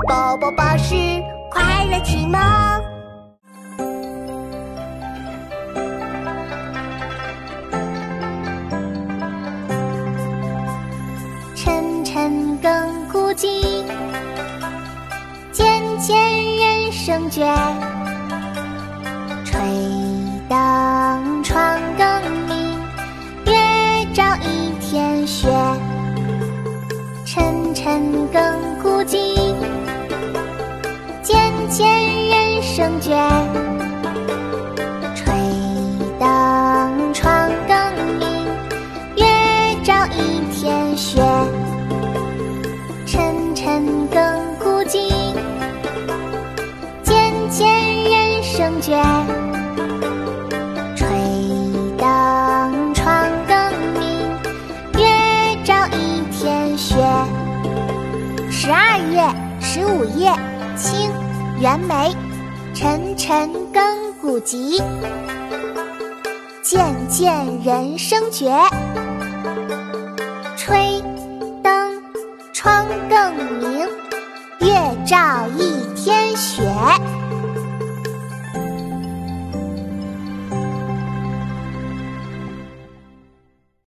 宝宝巴士快乐启蒙。 晨晨亘古今，渐渐人生倦。吹灯窗更明，月照一天雪。晨晨亘古今，渐渐人生倦。吹灯窗更明，月照一天雪。晨晨亘古今，渐渐人生倦。吹灯窗更明，月照一天雪。12月15夜，清，袁枚。晨晨亘古今，渐渐人生绝。吹灯窗更明，月照一